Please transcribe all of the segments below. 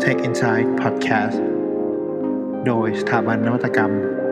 Tech Insight Podcast โดยสถาบันนวัตกรรม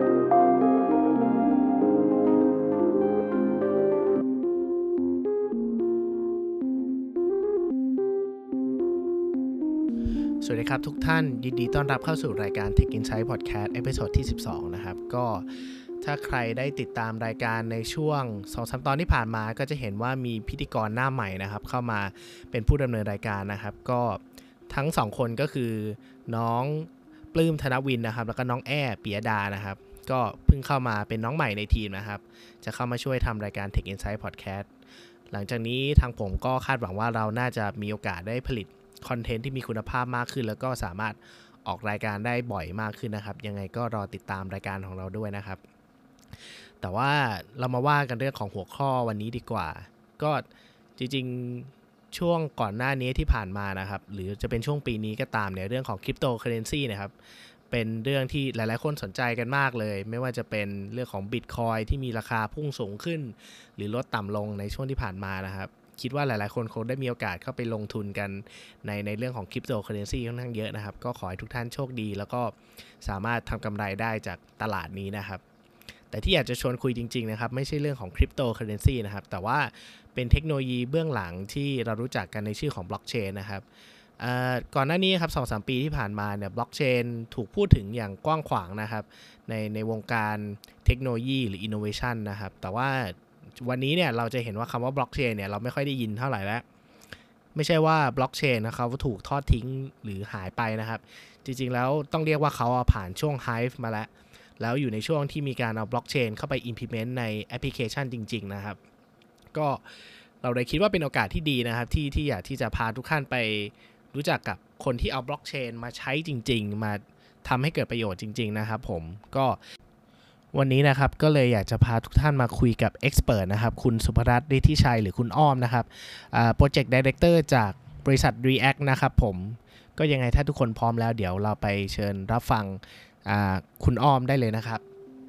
สวัสดีครับทุกท่านยินดีต้อนรับเข้าสู่รายการ Tech Insight Podcast เอพิโซดที่12นะครับก็ถ้าใครได้ติดตามรายการในช่วง 2-3 ตอนที่ผ่านมาก็จะเห็นว่ามีพิธีกรหน้าใหม่นะครับเข้ามาเป็นผู้ดำเนินรายการนะครับก็ทั้ง2คนก็คือน้องปลื้มธนวินนะครับแล้วก็น้องแอ้ปิยดานะครับก็เพิ่งเข้ามาเป็นน้องใหม่ในทีมนะครับจะเข้ามาช่วยทำรายการ Tech Insight Podcast หลังจากนี้ทางผมก็คาดหวังว่าเราน่าจะมีโอกาสได้ผลิตคอนเทนต์ที่มีคุณภาพมากขึ้นแล้วก็สามารถออกรายการได้บ่อยมากขึ้นนะครับยังไงก็รอติดตามรายการของเราด้วยนะครับแต่ว่าเรามาว่ากันเรื่องของหัวข้อวันนี้ดีกว่าก็จริงๆช่วงก่อนหน้านี้ที่ผ่านมานะครับหรือจะเป็นช่วงปีนี้ก็ตามเนี่ยเรื่องของคริปโตเคอเรนซีนะครับเป็นเรื่องที่หลายๆคนสนใจกันมากเลยไม่ว่าจะเป็นเรื่องของ Bitcoin ที่มีราคาพุ่งสูงขึ้นหรือลดต่ำลงในช่วงที่ผ่านมานะครับคิดว่าหลายๆคนคงได้มีโอกาสเข้าไปลงทุนกันในเรื่องของคริปโตเคอเรนซีค่อนข้างเยอะนะครับก็ขอให้ทุกท่านโชคดีแล้วก็สามารถทำกำไรได้จากตลาดนี้นะครับแต่ที่อยากจะชวนคุยจริงๆนะครับไม่ใช่เรื่องของคริปโตเคอเรนซีนะครับแต่ว่าเป็นเทคโนโลยีเบื้องหลังที่เรารู้จักกันในชื่อของบล็อกเชนนะครับก่อนหน้านี้ครับ 2-3 ปีที่ผ่านมาเนี่ยบล็อกเชนถูกพูดถึงอย่างกว้างขวางนะครับในวงการเทคโนโลยีหรืออินโนเวชันนะครับแต่ว่าวันนี้เนี่ยเราจะเห็นว่าคำว่าบล็อกเชนเนี่ยเราไม่ค่อยได้ยินเท่าไหร่แล้วไม่ใช่ว่าบล็อกเชนนะครับถูกทอดทิ้งหรือหายไปนะครับจริงๆแล้วต้องเรียกว่าเขาผ่านช่วงไฮป์มาแล้วอยู่ในช่วงที่มีการเอาบล็อกเชนเข้าไป implement ในแอปพลิเคชันจริงๆนะครับก็เราเลยคิดว่าเป็นโอกาสที่ดีนะครับที่อยากที่จะพาทุกท่านไปรู้จักกับคนที่เอาบล็อกเชนมาใช้จริงๆมาทำให้เกิดประโยชน์จริงๆนะครับผมก็วันนี้นะครับก็เลยอยากจะพาทุกท่านมาคุยกับเอ็กซ์เพิร์ทนะครับคุณสุภรัตน์ฤทธิชัยหรือคุณอ้อมนะครับโปรเจกต์ไดเรคเตอร์จากบริษัท React นะครับผมก็ยังไงถ้าทุกคนพร้อมแล้วเดี๋ยวเราไปเชิญรับฟังคุณอ้อมได้เลยนะครับ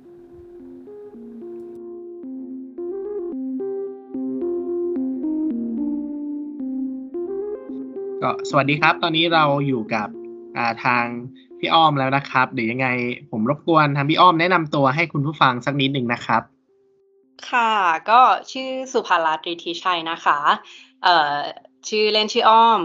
ก็สวัสดีครับตอนนี้เราอยู่กับทางพี่อ้อมแล้วนะครับเดี๋ยวยังไงผมรบกวนทางพี่อ้อมแนะนำตัวให้คุณผู้ฟังสักนิดนึงนะครับค่ะก็ชื่อสุภรัตน์ฤทธิชัยนะคะชื่อเล่นชื่ออ้อม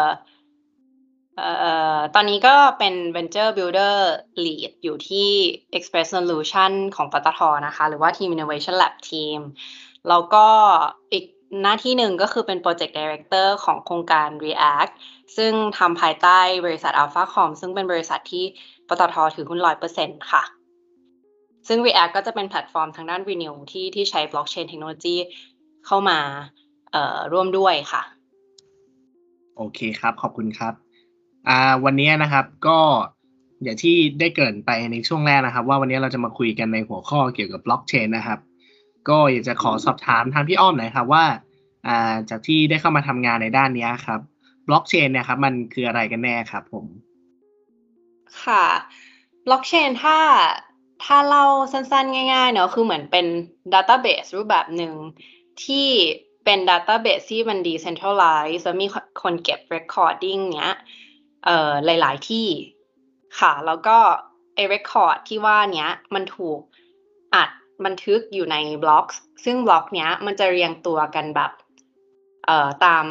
ตอนนี้ก็เป็น Venture Builder Lead อยู่ที่ Express Solution ของปตท.นะคะหรือว่า Team Innovation Lab Team แล้วก็อีกหน้าที่หนึ่งก็คือเป็น Project Director ของโครงการ React ซึ่งทำภายใต้บริษัท AlphaCom ซึ่งเป็นบริษัทที่ปตท.ถือหุ้น 100% ค่ะซึ่ง React ก็จะเป็นแพลตฟอร์มทางด้าน Renew ที่ใช้ Blockchain Technology เข้ามาร่วมด้วยค่ะโอเคครับขอบคุณครับวันนี้นะครับก็อย่างที่ได้เกริ่นไปในช่วงแรกนะครับว่าวันนี้เราจะมาคุยกันในหัวข้อเกี่ยวกับบล็อกเชนนะครับก็อยากจะขอสอบถามทางพี่อ้อมหน่อยครับว่าจากที่ได้เข้ามาทำงานในด้านนี้ครับบล็อกเชนเนี่ยครับมันคืออะไรกันแน่ครับผมค่ะ Blockchain ถ้าเล่าสั้นๆง่ายๆเนาะคือเหมือนเป็น Database รูปแบบหนึ่งที่เป็น Database ที่มัน Decentralized แล้วมีคนเก็บ Recording เนี้ยหลายๆที่ค่ะแล้วก็ไอ้ Record ที่ว่าเนี้ยมันถูกอัดบันทึกอยู่ในบล็อกซึ่งบล็อกเนี้ยมันจะเรียงตัวกันแบบตาม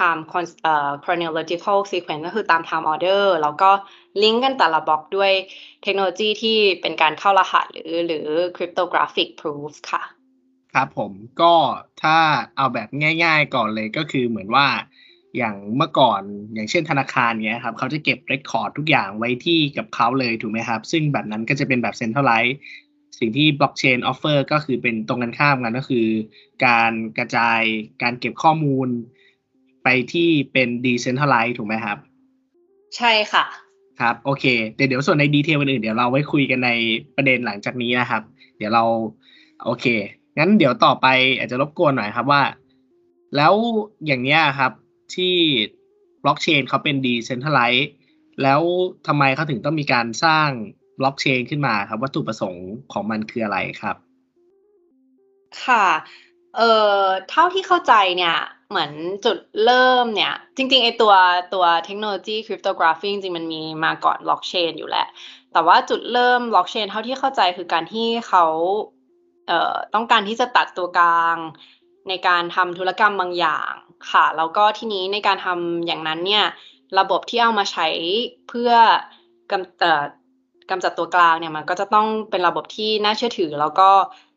chronological sequence ก็คือตาม time order แล้วก็ลิงก์กันแต่ละบล็อกด้วยเทคโนโลยีที่เป็นการเข้ารหัสหรือ cryptographic proof ค่ะครับผมก็ถ้าเอาแบบง่ายๆก่อนเลยก็คือเหมือนว่าอย่างเมื่อก่อนอย่างเช่นธนาคารเงี้ยครับเขาจะเก็บเรคคอร์ดทุกอย่างไว้ที่กับเขาเลยถูกไหมครับซึ่งแบบนั้นก็จะเป็นแบบ Centralized สิ่งที่ Blockchain offer ก็คือเป็นตรงกันข้ามกันก็คือการกระจายการเก็บข้อมูลไปที่เป็น Decentralized ถูกไหมครับใช่ค่ะครับโอเคเดี๋ยวส่วนในดีเทลอื่นๆเดี๋ยวเราไว้คุยกันในประเด็นหลังจากนี้นะครับเดี๋ยวเราโอเคงั้นเดี๋ยวต่อไปอาจจะรบกวนหน่อยครับว่าแล้วอย่างเนี้ยครับที่บล็อกเชนเขาเป็น Decentralized แล้วทำไมเขาถึงต้องมีการสร้างบล็อกเชนขึ้นมาครับวัตถุประสงค์ของมันคืออะไรครับค่ะเท่าที่เข้าใจเนี่ยเหมือนจุดเริ่มเนี่ยจริงๆไอตัวเทคโนโลยีคริปโตกราฟีจริงๆมันมีมาก่อนบล็อกเชนอยู่แล้วแต่ว่าจุดเริ่มบล็อกเชนเท่าที่เข้าใจคือการที่เขาต้องการที่จะตัดตัวกลางในการทำธุรกรรมบางอย่างค่ะแล้วก็ทีนี้ในการทำอย่างนั้นเนี่ยระบบที่เอามาใช้เพื่อกำจัดตัวกลางเนี่ยมันก็จะต้องเป็นระบบที่น่าเชื่อถือแล้วก็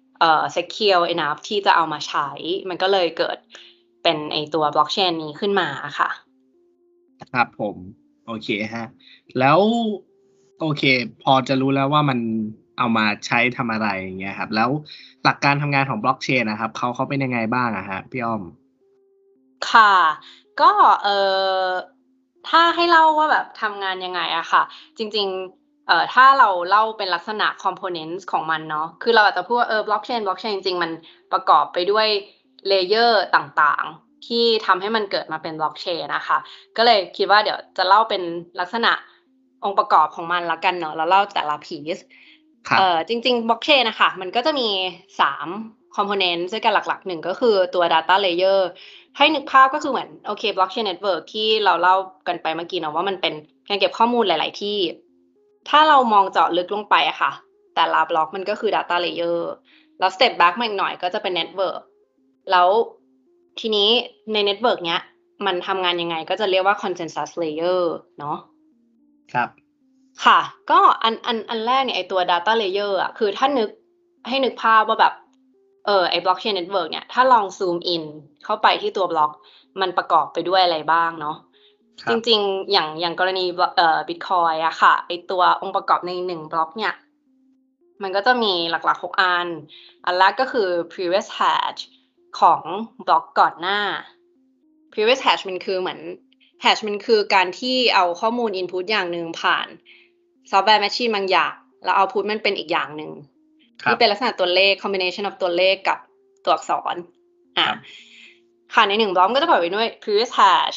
secure enough ที่จะเอามาใช้มันก็เลยเกิดเป็นไอตัวบล็อกเชนนี้ขึ้นมาค่ะครับผมโอเคฮะแล้วโอเคพอจะรู้แล้วว่ามันเอามาใช้ทำอะไรอย่างเงี้ยครับแล้วหลักการทำงานของบล็อกเชนนะครับเขาเป็นยังไงบ้างอะฮะพี่อ้อมค่ะก็ถ้าให้เล่าว่าแบบทำงานยังไงอะค่ะจริงๆถ้าเราเล่าเป็นลักษณะ components ของมันเนาะคือเราอาจจะพูดว่าblockchain จริงๆมันประกอบไปด้วย layer ต่างๆที่ทำให้มันเกิดมาเป็น blockchain นะคะก็เลยคิดว่าเดี๋ยวจะเล่าเป็นลักษณะองค์ประกอบของมันแล้วกันเนาะแล้วเล่าแต่ละ piece ครับจริงๆ blockchain น่ะค่ะมันก็จะมี3 component ด้วยกันหลักๆ1ก็คือตัว data layer ให้นึกภาพก็คือเหมือนโอเค blockchain network ที่เราเล่ากันไปเมื่อกี้เนาะว่ามันเป็นการเก็บข้อมูลหลาย ๆ ที่ถ้าเรามองเจาะลึกลงไปอะค่ะแต่ละบล็อกมันก็คือ data layer แล้ว step back มาอีกหน่อยก็จะเป็น network แล้วทีนี้ใน network เนี้ยมันทำงานยังไงก็จะเรียกว่า consensus layer เนาะครับค่ะก็อันแรกเนี่ยไอ้ตัว data layer อะคือถ้านึกภาพว่าแบบไอ้ blockchain network เนี่ยถ้าลองซูมอินเข้าไปที่ตัวบล็อกมันประกอบไปด้วยอะไรบ้างเนาะจริงๆอย่างกรณีBitcoin อะค่ะไอ้ตัวองค์ประกอบใน1บล็อกเนี่ยมันก็จะมีหลักๆ6อันแรกก็คือ previous hash ของบล็อกก่อนหน้า previous hash มันคือเหมือน hash มันคือการที่เอาข้อมูล input อย่างหนึ่งผ่านซอฟต์แวร์แมชชีนบางอย่างแล้วเอาพุตมันเป็นอีกอย่างหนึ่งที่เป็นลักษณะตัวเลข combination of ตัวเลขกับตัวอักษรค่ะใน1บล็อกก็จะประกอบไปด้วย previous hash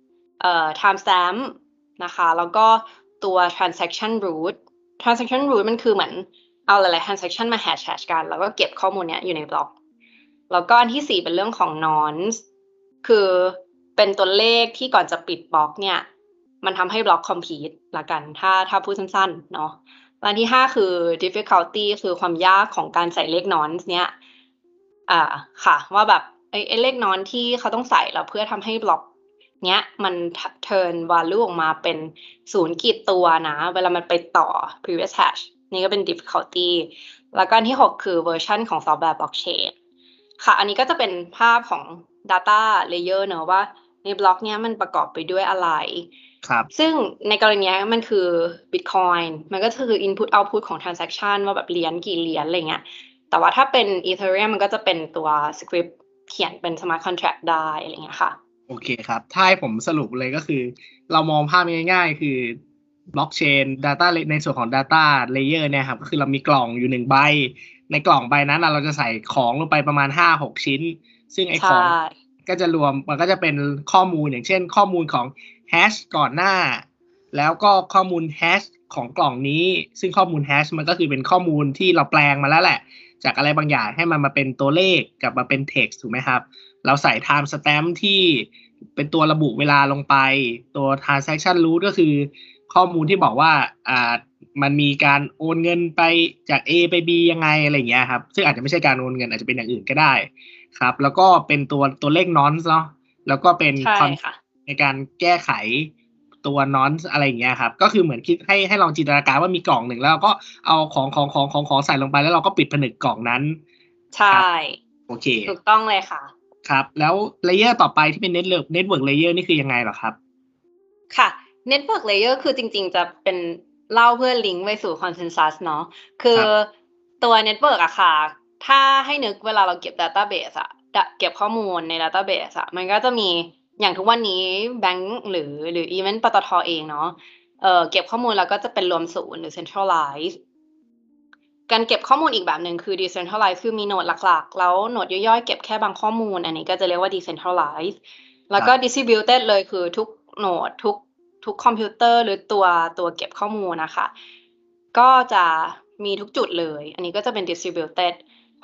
timestamp นะคะแล้วก็ตัว transaction root มันคือเหมือนเอาหลายๆ transaction มา hash กันแล้วก็เก็บข้อมูลเนี้ยอยู่ในบล็อกแล้วก็อันที่4เป็นเรื่องของ nonce คือเป็นตัวเลขที่ก่อนจะปิดบล็อกเนี่ยมันทำให้บล็อก complete ละกันถ้าพูดสั้นๆเนาะอันที่5คือ difficulty คือความยากของการใส่เลข nonce เนี่ยค่ะว่าแบบไอ้เลข nonce ที่เขาต้องใส่แล้วเพื่อทำให้บล็อกเนี้ยมัน turn value ออกมาเป็น0ขีดตัวนะเวลามันไปต่อ previous hash นี่ก็เป็น difficulty แล้วก็อันที่6คือเวอร์ชันของซอฟต์แวร์ blockchain ค่ะอันนี้ก็จะเป็นภาพของ data layer เนอะว่าในบล็อกเนี้ยมันประกอบไปด้วยอะไรครับซึ่งในกรณีนี้มันคือ Bitcoin มันก็คือ input output ของ transaction ว่าแบบเหรียญกี่เหรียญอะไรเงี้ยแต่ว่าถ้าเป็น Ethereum มันก็จะเป็นตัว script เขียนเป็น smart contract ได้อะไรเงี้ยค่ะโอเคครับถ้าให้ผมสรุปเลยก็คือเรามองภาพง่ายๆคือบล็อกเชน data ในส่วนของ data layer เนี่ยครับก็คือเรามีกล่องอยู่1ใบในกล่องใบนั้นเราจะใส่ของลงไปประมาณ 5-6 ชิ้นซึ่งไอ้ของก็จะรวมมันก็จะเป็นข้อมูลอย่างเช่นข้อมูลของแฮชก่อนหน้าแล้วก็ข้อมูลแฮชของกล่องนี้ซึ่งข้อมูลแฮชมันก็คือเป็นข้อมูลที่เราแปลงมาแล้วแหละจากอะไรบางอย่างให้มันมาเป็นตัวเลขกลับมาเป็น text ถูกไหมครับเราใส่ time stamp ที่เป็นตัวระบุเวลาลงไปตัว transaction root ก็คือข้อมูลที่บอกว่ามันมีการโอนเงินไปจาก A ไป B ยังไงอะไรอย่างเงี้ยครับซึ่งอาจจะไม่ใช่การโอนเงินอาจจะเป็นอย่างอื่นก็ได้ครับแล้วก็เป็นตัวเลข nonce เนาะแล้วก็เป็นในการแก้ไขตัว nonce อะไรอย่างเงี้ยครับก็คือเหมือนคิดให้ลองจินตนาการว่ามีกล่องหนึ่งแล้วก็เอาของใส่ลงไปแล้วเราก็ปิดผนึกกล่องนั้นใช่โอเคถูกต้องเลยค่ะครับแล้วเลเยอร์ต่อไปที่เป็นเน็ตเวิร์กเลเยอร์นี่คือยังไงเหรอครับค่ะ network layer คือจริงๆจะเป็นเล่าเพื่อลิงก์ไปสู่ consensus เนาะคือตัว network อะค่ะถ้าให้นึกเวลาเราเก็บ database อะเก็บข้อมูลใน database อะมันก็จะมีอย่างทุกวันนี้แบงก์หรือ even ปตท.เองเนาะเก็บข้อมูลแล้วก็จะเป็นรวมศูนย์หรือ centralize การเก็บข้อมูลอีกแบบหนึ่งคือ decentralize คือมีโนดหลักๆแล้วโนดย่อยๆเก็บแค่บางข้อมูลอันนี้ก็จะเรียกว่า decentralize แล้วก็ distributed เลยคือทุกโนดทุกคอมพิวเตอร์หรือตัวเก็บข้อมูลนะคะก็จะมีทุกจุดเลยอันนี้ก็จะเป็น distributed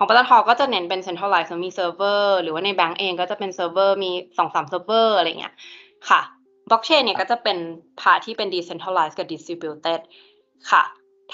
ของปตท.ก็จะเน้นเป็น centralized มีเซิร์ฟเวอร์หรือว่าในแบงก์เองก็จะเป็นเซิร์ฟเวอร์มี 2-3 เซิร์ฟเวอร์อะไรเงี้ยค่ะบล็อกเชนเนี่ยก็จะเป็นพาร์ทที่เป็น decentralized กับ distributed ค่ะ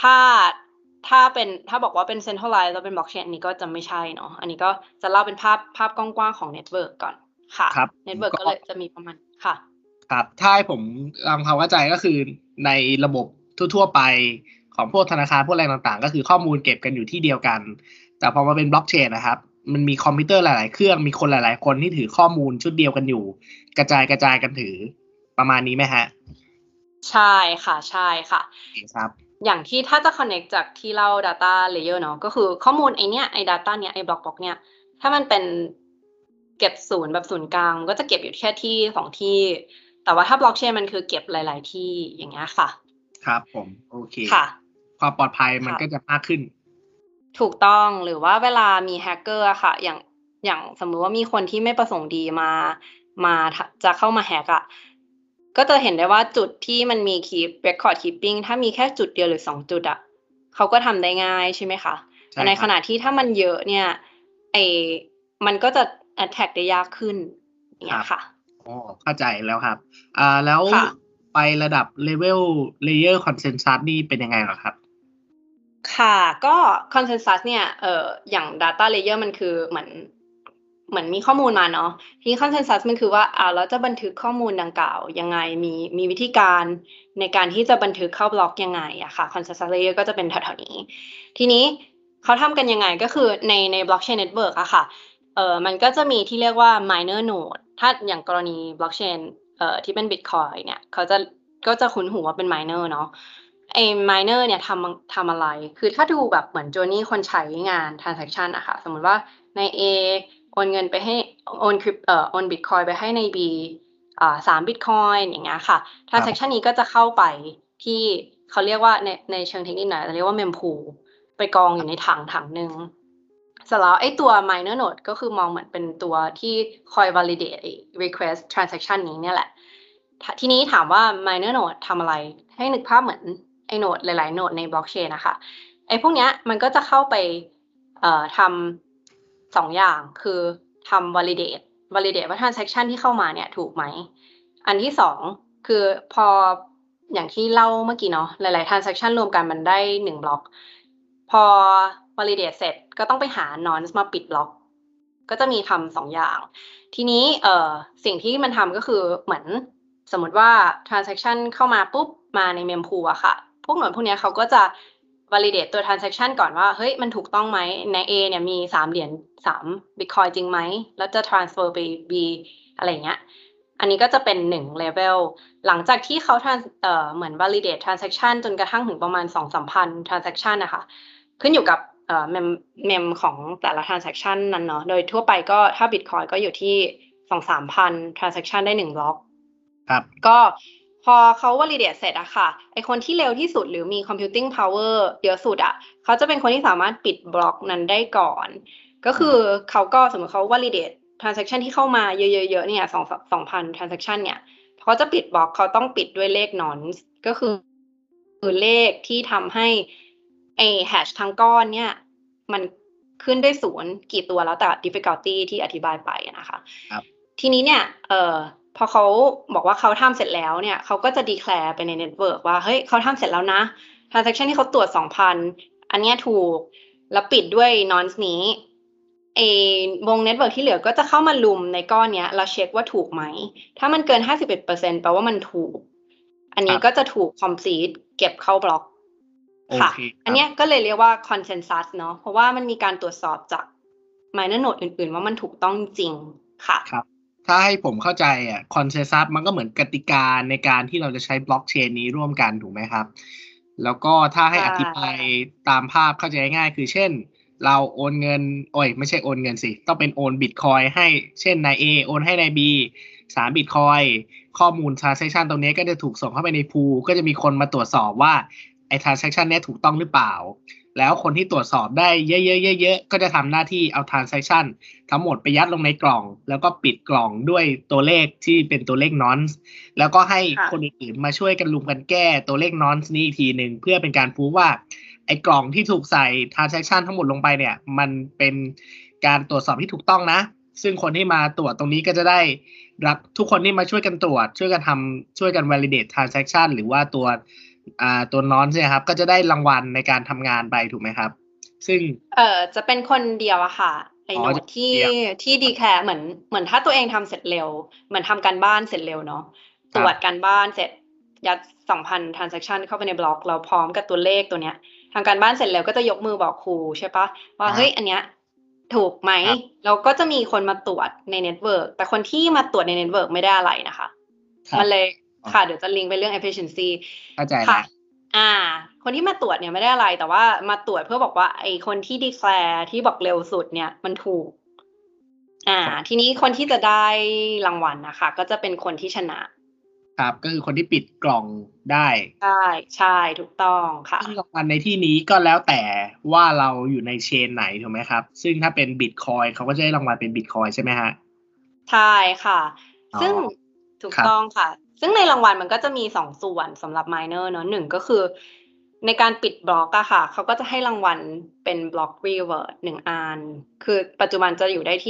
ถ้าบอกว่าเป็น centralized แล้วเป็น blockchain อันนี้ก็จะไม่ใช่เนาะอันนี้ก็จะเล่าเป็นภาพกว้างๆของ network ก่อนค่ะ network ก็เลยจะมีประมาณค่ะครับถ้าให้ผมทำความเข้าใจก็คือในระบบทั่วๆไปของพวกธนาคารพวกอะไรต่างๆก็คือข้อมูลเก็บกันอยู่ที่เดียวกันแต่พอมาเป็นบล็อกเชนนะครับมันมีคอมพิวเตอร์หลายๆเครื่องมีคนหลายๆคนที่ถือข้อมูลชุดเดียวกันอยู่กระจายกันถือประมาณนี้ไหมฮะใช่ค่ะใช่ค่ะครับอย่างที่ถ้าจะ connect จากที่เล่า data layer เนาะก็คือข้อมูลไอเนี้ยไอ data เนี้ยไอบล็อกเนี่ยถ้ามันเป็นเก็บศูนย์แบบศูนย์กลางก็จะเก็บอยู่แค่ที่2ที่แต่ว่าถ้าบล็อกเชนมันคือเก็บหลายๆที่อย่างเงี้ยค่ะครับผมโอเคค่ะความปลอดภัยมันก็จะมากขึ้นถูกต้องหรือว่าเวลามีแฮกเกอร์อะค่ะอย่างสมมุติว่ามีคนที่ไม่ประสงค์ดีมาจะเข้ามาแฮกอะก็จะเห็นได้ว่าจุดที่มันมี keep record keeping ถ้ามีแค่จุดเดียวหรือ2จุดอะเขาก็ทำได้ง่ายใช่ไหมคะแต่ในขณะที่ถ้ามันเยอะเนี่ยมันก็จะ attack ได้ยากขึ้นอย่างเงี้ยค่ะอ๋อเข้าใจแล้วครับแล้วไประดับ level layer consensus นี่เป็นยังไงเหรอครับค่ะก็ consensus เนี่ยอย่าง data layer มันคือเหมือนมีข้อมูลมาเนาะทีนี้ consensus มันคือว่าเราจะบันทึกข้อมูลดังกล่าวยังไงมีวิธีการในการที่จะบันทึกเข้าบล็อกยังไงอะค่ะ consensus layer ก็จะเป็นแถวๆนี้ทีนี้เขาทำกันยังไงก็คือใน blockchain network อะค่ะมันก็จะมีที่เรียกว่า minor node ถ้าอย่างกรณี blockchain ที่เป็น Bitcoin เนี่ยก็จะคุ้นหูว่าเป็น minor เนาะminer เนี่ยทำอะไร คือถ้าดูแบบเหมือน journey คนใช้งาน transaction อะค่ะสมมุติว่าใน A โอนเงินไปให้โอน Bitcoin ไปให้ใน B 3 Bitcoin อย่างเงี้ยค่ะ transaction นี้ก็จะเข้าไปที่เขาเรียกว่าในเชิงเทคนิคหน่อยเรียกว่า mempool ไปกองอยู่ในถังหนึ่งเสร็จแล้วไอ้ตัว minor node ก็คือมองเหมือนเป็นตัวที่คอย validate request transaction นี้เนี่ยแหละทีนี้ถามว่า minor node ทำอะไรให้นึกภาพเหมือนไอ้โนดหลายๆโนดในบล็อกเชนนะคะไอ้พวกเนี้ยมันก็จะเข้าไปทำ2อย่างคือทำ validate ว่า transaction ที่เข้ามาเนี่ยถูกไหมอันที่2คือพออย่างที่เล่าเมื่อกี้เนาะหลายๆ transaction รวมกันมันได้1บล็อกพอ validate เสร็จก็ต้องไปหา nonce มาปิดบล็อกก็จะมีทำ2อย่างทีนี้สิ่งที่มันทำก็คือเหมือนสมมติว่า transaction เข้ามาปุ๊บมาใน mempool อะค่ะพวกหน่วยพวกนี้เขาก็จะ validate ตัว transaction ก่อนว่าเฮ้ยมันถูกต้องไหมใน A เนี่ยมี3เหรียญ3 Bitcoin จริงไหมแล้วจะ transfer ไป B อะไรเงี้ยอันนี้ก็จะเป็น1 level หลังจากที่เขาเหมือน validate transaction จนกระทั่งถึงประมาณ 2-3 พัน transaction นะคะขึ้นอยู่กับmem ของแต่ละ transaction นั้นเนาะโดยทั่วไปก็ถ้า Bitcoin ก็อยู่ที่ 2-3 พัน transaction ได้1บล็อกครับก็พอเขา validate เสร็จอะค่ะไอคนที่เร็วที่สุดหรือมี computing power เยอะสุดอะเขาจะเป็นคนที่สามารถปิดบล็อกนั้นได้ก่อนก็คือเขาก็สมมติเขา validate transaction ที่เข้ามาเยอะๆเนี่ย2,000 transaction เนี่ยเขาจะปิดบล็อกเขาต้องปิดด้วยเลข nonce ก็คือเลขที่ทำให้ไอ hash ทั้งก้อนเนี่ยมันขึ้นได้0กี่ตัวแล้วแต่ difficulty ที่อธิบายไปนะคะทีนี้เนี่ยพอเขาบอกว่าเขาทำเสร็จแล้วเนี่ยเขาก็จะ declare ไปใน network ว่าเฮ้ยเขาทำเสร็จแล้วนะ transaction ที่เขาตรวจ 2,000 อันเนี้ยถูกแล้วปิดด้วย nonce นี้วง network ที่เหลือก็จะเข้ามาลุมในก้อนเนี้ยแล้วเช็คว่าถูกไหมถ้ามันเกิน 51% แปลว่ามันถูกอันนี้ก็จะถูก complete เก็บเข้าบล็อกค่ะอันเนี้ยก็เลยเรียกว่า consensus เนาะเพราะว่ามันมีการตรวจสอบจาก minor node อื่นๆว่ามันถูกต้องจริงค่ะครับถ้าให้ผมเข้าใจคอนเซนซัสมันก็เหมือนกติกาในการที่เราจะใช้บล็อกเชนนี้ร่วมกันถูกไหมครับแล้วก็ถ้าให้อธิบายตามภาพเข้าใจง่ายคือเช่นเราโอนเงินไม่ใช่โอนเงินสิต้องเป็นโอนบิตคอยให้เช่นนาย A โอนให้นาย B 3 บิตคอยข้อมูล transaction ตรงนี้ก็จะถูกส่งเข้าไปในพูลก็จะมีคนมาตรวจสอบว่าไอ้ transaction นี้ถูกต้องหรือเปล่าแล้วคนที่ตรวจสอบได้เยอะๆก็จะทำหน้าที่เอา transaction ทั้งหมดไปยัดลงในกล่องแล้วก็ปิดกล่องด้วยตัวเลขที่เป็นตัวเลข nonce แล้วก็ให้คนอื่นๆมาช่วยกันลุมกันแก้ตัวเลข nonce นี้อีกทีนึงเพื่อเป็นการพูดว่าไอ้กล่องที่ถูกใส่ transaction ทั้งหมดลงไปเนี่ยมันเป็นการตรวจสอบที่ถูกต้องนะซึ่งคนที่มาตรวจตรงนี้ก็จะได้รับทุกคนที่มาช่วยกันตรวจช่วยกันทำช่วยกัน validate transaction หรือว่าตัวน้อนใช่ไหมครับก็จะได้รางวัลในการทำงานไปถูกไหมครับซึ่งจะเป็นคนเดียวอะค่ะไอ้โน้ตที่ดีแคร์เหมือนถ้าตัวเองทำเสร็จเร็วเหมือนทำการบ้านเสร็จเร็วเนาะตรวจการบ้านเสร็จยัด 2,000 transaction เข้าไปในบล็อกเราพร้อมกับตัวเลขตัวเนี้ยทำการบ้านเสร็จแล้วก็จะยกมือบอกครูใช่ปะว่าเฮ้ยอันเนี้ยถูกไหมเราก็จะมีคนมาตรวจในเน็ตเวิร์กแต่คนที่มาตรวจในเน็ตเวิร์กไม่ได้อะไรนะคะมันเลยค่ะเดี๋ยวจะลิงก์ไปเรื่อง efficiency เข้าใจแล้วคนที่มาตรวจเนี่ยไม่ได้อะไรแต่ว่ามาตรวจเพื่อบอกว่าไอ้คนที่ declare ที่บอกเร็วสุดเนี่ยมันถูกทีนี้คนที่จะได้รางวัลนะคะก็จะเป็นคนที่ชนะครับก็คือคนที่ปิดกล่องได้ใช่ถูกต้องค่ะซึ่งรางวัลในที่นี้ก็แล้วแต่ว่าเราอยู่ในเชนไหนถูกไหมครับซึ่งถ้าเป็น Bitcoin เขาก็จะได้รางวัลเป็น Bitcoin ใช่ไหมฮะใช่ค่ะซึ่งถูกต้องค่ะซึ่งในรางวัลมันก็จะมี2ส่วนสำหรับ miner เนอะ1ก็คือในการปิดบล็อกอะค่ะเขาก็จะให้รางวัลเป็นบล็อก reward 1 อันคือปัจจุบันจะอยู่ได้ที่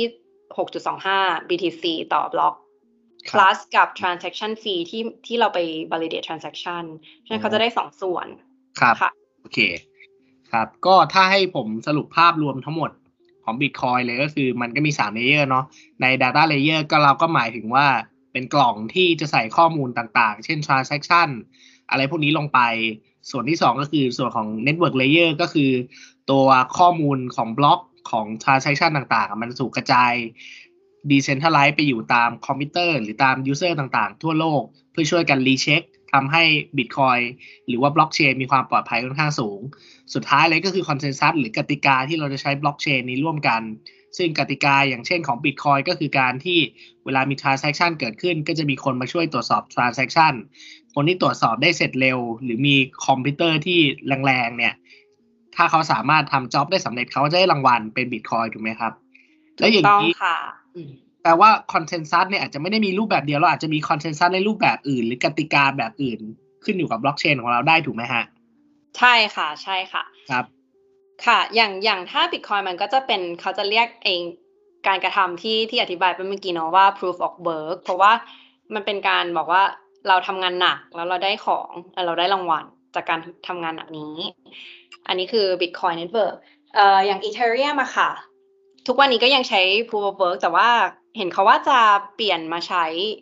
6.25 BTC ต่อบล็อก plus กับ transaction fee ที่เราไป validate transaction ฉะนั้นเขาจะได้2ส่วนครับโอเคครับก็ถ้าให้ผมสรุปภาพรวมทั้งหมดของ Bitcoin เลยก็คือมันก็มี3 layer เนาะใน data layer ก็เราก็หมายถึงว่าเป็นกล่องที่จะใส่ข้อมูลต่างๆเช่น transaction อะไรพวกนี้ลงไปส่วนที่2ก็คือส่วนของ network layer ก็คือตัวข้อมูลของบล็อกของ transaction ต่างๆมันถูกกระจาย decentralize ไปอยู่ตามคอมพิวเตอร์หรือตาม user ต่างๆทั่วโลกเพื่อช่วยกัน recheck ทำให้ Bitcoin หรือว่าบล็อกเชนมีความปลอดภัยค่อนข้างสูงสุดท้ายเลยก็คือคอนเซนแซสหรือกติกาที่เราจะใช้บล็อกเชนนี้ร่วมกันซึ่งกติกาอย่างเช่นของ Bitcoin ก็คือการที่เวลามี transaction เกิดขึ้นก็จะมีคนมาช่วยตรวจสอบ transaction คนที่ตรวจสอบได้เสร็จเร็วหรือมีคอมพิวเตอร์ที่แรงๆเนี่ยถ้าเขาสามารถทำจ็อบได้สำเร็จเขาจะได้รางวัลเป็น Bitcoin ถูกไหมครับและอย่างนี้แปลว่าคอนเซนแซสเนี่ยอาจจะไม่ได้มีรูปแบบเดียวเราอาจจะมีคอนเซนแซสในรูปแบบอื่นหรือกติกาแบบอื่นขึ้นอยู่กับบล็อกเชนของเราได้ถูกไหมฮะใช่ค่ะครับค่ะอย่างถ้า Bitcoin มันก็จะเป็นเขาจะเรียกเองการกระทำที่อธิบายไปเมื่อกี้เนาะว่า proof of work เพราะว่ามันเป็นการบอกว่าเราทำงานหนักแล้วเราได้ของเราได้รางวัลจากการทำงานหนักนี้อันนี้คือ Bitcoin Network อย่าง Ethereum อะค่ะทุกวันนี้ก็ยังใช้ proof of work แต่ว่าเห็นเขาว่าจะเปลี่ยนมาใช้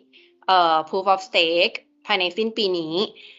proof of stake ภายในสิ้นปีนี้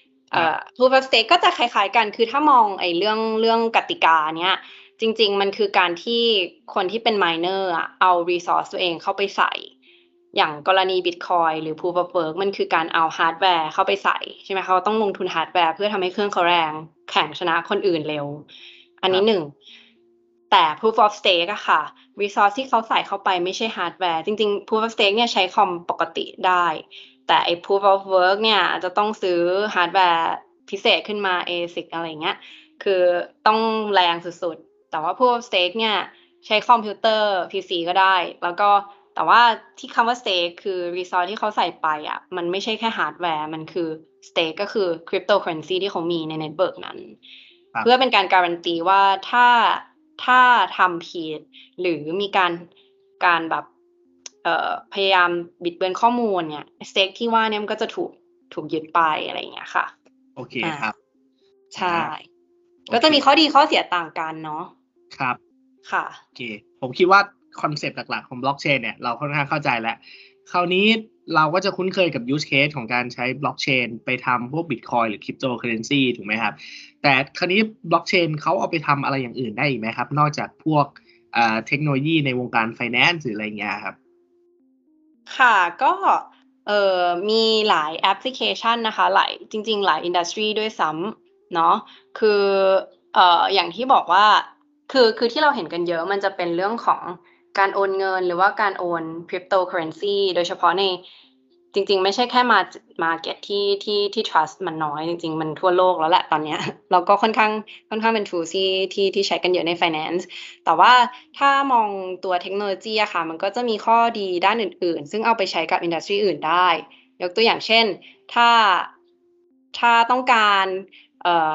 proof of stake ก็จะคล้ายๆกันคือถ้ามองไอ้เรื่องกติกาเนี้ยจริงๆมันคือการที่คนที่เป็น miner เอา resource ตัวเองเข้าไปใส่อย่างกรณี Bitcoin หรือ proof of work มันคือการเอาฮาร์ดแวร์เข้าไปใส่ใช่ไหมเขาต้องลงทุนฮาร์ดแวร์เพื่อทำให้เครื่องเขาแรงแข่งชนะคนอื่นเร็วอันนี้1แต่ proof of stake อะค่ะ resource ที่เขาใส่เข้าไปไม่ใช่ฮาร์ดแวร์จริงๆ proof of stake เนี่ยใช้คอมปกติได้แต่ไอ้ proof of work เนี่ยจะต้องซื้อฮาร์ดแวร์พิเศษขึ้นมา ASIC อะไรเงี้ยคือต้องแรงสุดๆแต่ว่า proof of stake เนี่ยใช้คอมพิวเตอร์ PC ก็ได้แล้วก็แต่ว่าที่คำว่า stake คือ resource ที่เขาใส่ไปมันไม่ใช่แค่ฮาร์ดแวร์มันคือ stake ก็คือ cryptocurrency ที่เขามีใน network นั้นเพื่อเป็นการการันตีว่าถ้าทำผิดหรือมีการแบบพยายามบิดเบือนข้อมูลเนี่ยสเต็กที่ว่าเนี่ยมันก็จะถูกยึดไปอะไรอย่างเงี้ยค่ะโอเคครับใช่ก็จะมีข้อดีข้อเสียต่างกันเนาะครับค่ะโอเคผมคิดว่าคอนเซปต์หลักๆของบล็อกเชนเนี่ยเราค่อนข้างเข้าใจแล้วคราวนี้เราก็จะคุ้นเคยกับ use case ของการใช้บล็อกเชนไปทำพวก Bitcoin หรือ Cryptocurrency ถูกไหมครับแต่คราวนี้บล็อกเชนเขาเอาไปทำอะไรอย่างอื่นได้อีกไหมครับนอกจากพวกเทคโนโลยีในวงการ finance หรืออะไรเงี้ยครับค่ะก็มีหลายแอปพลิเคชันนะคะจริงๆหลายอินดัสทรีด้วยซ้ำเนาะคืออย่างที่บอกว่าคือที่เราเห็นกันเยอะมันจะเป็นเรื่องของการโอนเงินหรือว่าการโอน cryptocurrency โดยเฉพาะในจริงๆไม่ใช่แค่market ที่ trust มันน้อยจริงๆมันทั่วโลกแล้วแหละตอนเนี้ยเราก็ค่อนข้างเป็น tool ที่ใช้กันเยอะใน finance แต่ว่าถ้ามองตัวเทคโนโลยีอะค่ะมันก็จะมีข้อดีด้านอื่นๆซึ่งเอาไปใช้กับอินดัสทรีอื่นได้ยกตัวอย่างเช่นถ้าต้องการ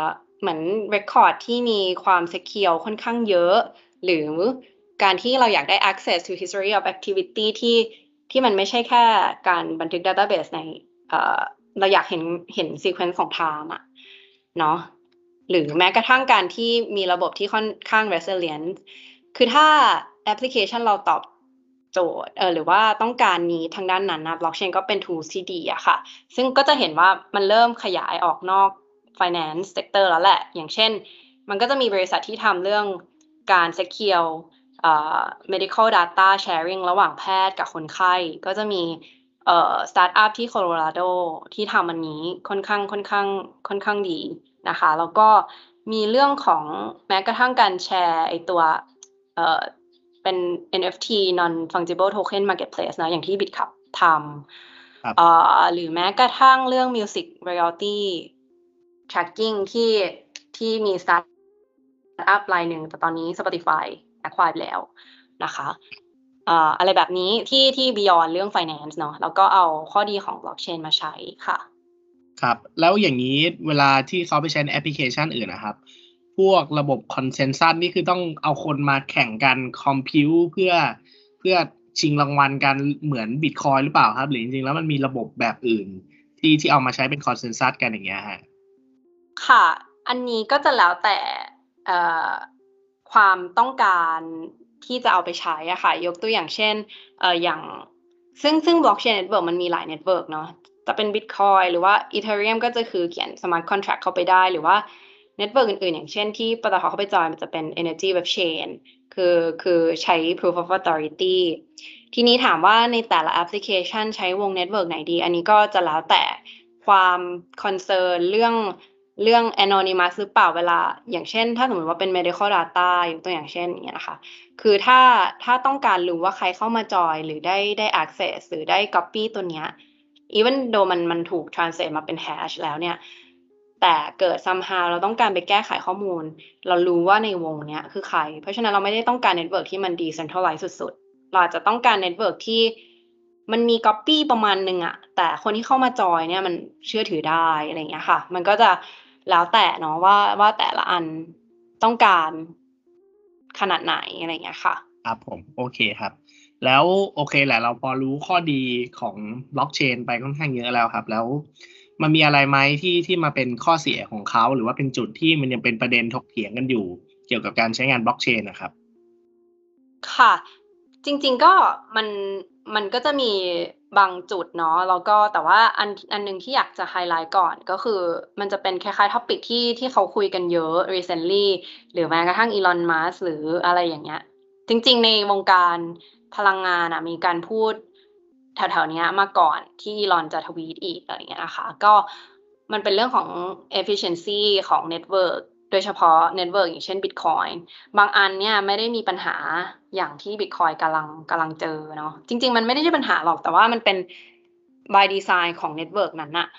เหมือน record ที่มีความ secure ค่อนข้างเยอะหรือการที่เราอยากได้ access to history of activity ที่มันไม่ใช่แค่การบันทึก database ในเราอยากเห็น sequence ของ time อะเนาะหรือแม้กระทั่งการที่มีระบบที่ค่อนข้าง resilient คือถ้าแอปพลิเคชันเราตอบโจทย์หรือว่าต้องการนี้ทางด้านนั้นนะ blockchain ก็เป็น tools ที่ดีอะค่ะซึ่งก็จะเห็นว่ามันเริ่มขยายออกนอก finance sector แล้วแหละอย่างเช่นมันก็จะมีบริษัทที่ทำเรื่องการ secure medical data sharing ระหว่างแพทย์กับคนไข้ก็จะมีสตาร์ทอัพที่โคโลราโดที่ทำอันนี้ค่อนข้างดีนะคะแล้วก็มีเรื่องของแม้กระทั่งการแชร์ไอตัวเป็น NFT non fungible token marketplace นะอย่างที่ BitCup ทำหรือแม้กระทั่งเรื่อง music royalty tracking ที่มีสตาร์ทอัพรายหนึ่งแต่ตอนนี้ Spotify acquire ไปแล้วนะคะอะไรแบบนี้ที่ beyond เรื่อง finance เนาะแล้วก็เอาข้อดีของ blockchain มาใช้ค่ะครับแล้วอย่างนี้เวลาที่เขาไปใช้ในแอปพลิเคชันอื่นนะครับพวกระบบคอนเซนซัสนี่คือต้องเอาคนมาแข่งกันคอมพิวเพื่อชิงรางวัลกันเหมือน Bitcoin หรือเปล่าครับหรือจริงๆแล้วมันมีระบบแบบอื่นที่เอามาใช้เป็นคอนเซนซัสกันอย่างเงี้ยฮะค่ะอันนี้ก็จะแล้วแต่ความต้องการที่จะเอาไปใช้อะค่ะยกตัวอย่างเช่นอย่างซึ่ง blockchain network มันมีหลาย network เนาะจะเป็น Bitcoin หรือว่า Ethereum ก็จะคือเขียน smart contract เข้าไปได้หรือว่า network อื่นๆอย่างเช่นที่ปตท.เข้าไปจอยมันจะเป็น Energy Web Chain คือใช้ Proof of Authority ทีนี้ถามว่าในแต่ละแอปพลิเคชันใช้วง network ไหนดีอันนี้ก็จะแล้วแต่ความ concern เรื่อง anonymous หรือเปล่าเวลาอย่างเช่นถ้าสมมติว่าเป็น medical data ยกตัวอย่างเช่นอย่างเงี้ยนะคะคือถ้าต้องการรู้ว่าใครเข้ามาจอยหรือได้ access หรือได้ copy ตัวเนี้ย even though มันถูก translate มาเป็น hash แล้วเนี่ยแต่เกิด somehow เราต้องการไปแก้ไขข้อมูลเรารู้ว่าในวงเนี้ยคือใครเพราะฉะนั้นเราไม่ได้ต้องการ network ที่มัน decentralized สุดๆเราอาจจะต้องการ network ที่มันมี copy ประมาณนึงอะแต่คนที่เข้ามาจอยเนี่ยมันเชื่อถือได้อะไรอย่างเงี้ยค่ะมันก็จะแล้วแต่เนาะว่าแต่ละอันต้องการขนาดไหนอะไรอย่างเงี้ยค่ะครับผมโอเคครับแล้วโอเคแหละเราพอรู้ข้อดีของบล็อกเชนไปค่อนข้างเยอะแล้วครับแล้วมันมีอะไรไหมที่มาเป็นข้อเสียของเขาหรือว่าเป็นจุดที่มันยังเป็นประเด็นถกเถียงกันอยู่เกี่ยวกับการใช้งานบล็อกเชนนะครับค่ะจริงๆก็มันก็จะมีบางจุดเนาะแล้วก็แต่ว่าอันนึงที่อยากจะไฮไลท์ก่อนก็คือมันจะเป็นคล้ายๆ topic ที่เขาคุยกันเยอะ recently หรือแม้กระทั่ง Elon Musk หรืออะไรอย่างเงี้ยจริงๆในวงการพลังงานมีการพูดแถวๆเนี้ยมาก่อนที่ Elon จะทวีตอีกอะไรอย่างเงี้ยนะคะก็มันเป็นเรื่องของ efficiency ของ network โดยเฉพาะ network อย่างเช่น Bitcoin บางอันเนี่ยไม่ได้มีปัญหาอย่างที่ Bitcoin กำลังเจอเนาะจริงๆมันไม่ได้ใช่ปัญหาหรอกแต่ว่ามันเป็น by design ของ network นั้นน่ะ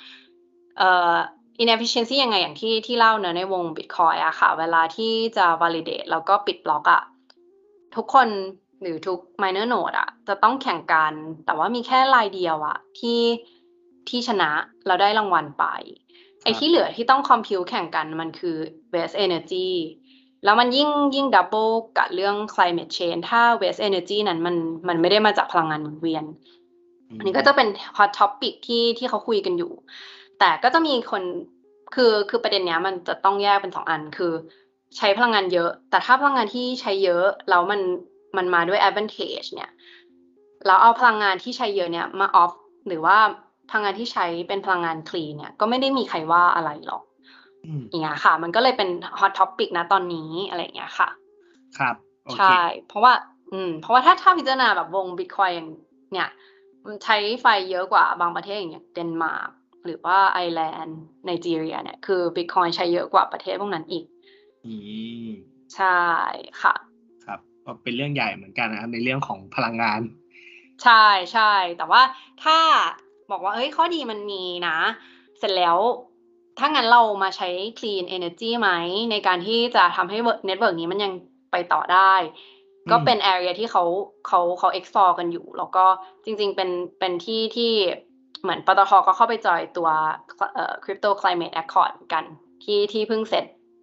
inefficiency ยังไงอย่างที่เล่าเนอะในวง Bitcoin อะค่ะเวลาที่จะ validate แล้วก็ปิดบล็อกอะทุกคนหรือทุก miner node อะจะต้องแข่งกันแต่ว่ามีแค่รายเดียวอะที่ชนะแล้วได้รางวัลไปไอ้ที่เหลือที่ต้อง compute แข่งกันมันคือ waste energy แล้วมันยิ่ง double กับเรื่อง climate change ถ้า waste energy นั้นมันไม่ได้มาจากพลังงานหมุนเวียนอันนี้ก็จะเป็น hot topic ที่เขาคุยกันอยู่แต่ก็จะมีคนคือประเด็นเนี้ยมันจะต้องแยกเป็น2อันคือใช้พลังงานเยอะแต่ถ้าพลังงานที่ใช้เยอะแล้วมันมาด้วย advantage เนี่ยแล้วเอาพลังงานที่ใช้เยอะเนี่ยมา off หรือว่าพลังงานที่ใช้เป็นพลังงาน clean เนี่ยก็ไม่ได้มีใครว่าอะไรหรอกอย่างเงี้ยค่ะมันก็เลยเป็น hot topic นะตอนนี้อะไรอย่างเงี้ยค่ะครับโอเคใช่เพราะว่าถ้าพิจารณาแบบวง Bitcoin อย่างเนี่ยมันใช้ไฟเยอะกว่าบางประเทศอย่างเดนมาร์กหรือว่าไอร์แลนด์ไนจีเรียเนี่ยคือ Bitcoin ใช้เยอะกว่าประเทศพวกนั้นอีกอืมใช่ค่ะครับก็เป็นเรื่องใหญ่เหมือนกันนะครับในเรื่องของพลังงานใช่ๆแต่ว่าถ้าบอกว่าเฮ้ยข้อดีมันมีนะเสร็จแล้วถ้างั้นเรามาใช้ clean energy ไหมในการที่จะทำให้network นี้มันยังไปต่อได้ก็เป็น area ที่เขา explore กันอยู่แล้วก็จริงๆเป็นที่เหมือนปตท.ก็เข้าไปจอยตัวCrypto Climate Accord กันที่เพิ่งเสร็จ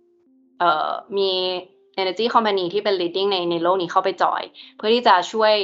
มี energy company ที่เป็น leading ในโลกนี้เข้าไปจอยเพื่อที่จะช่วย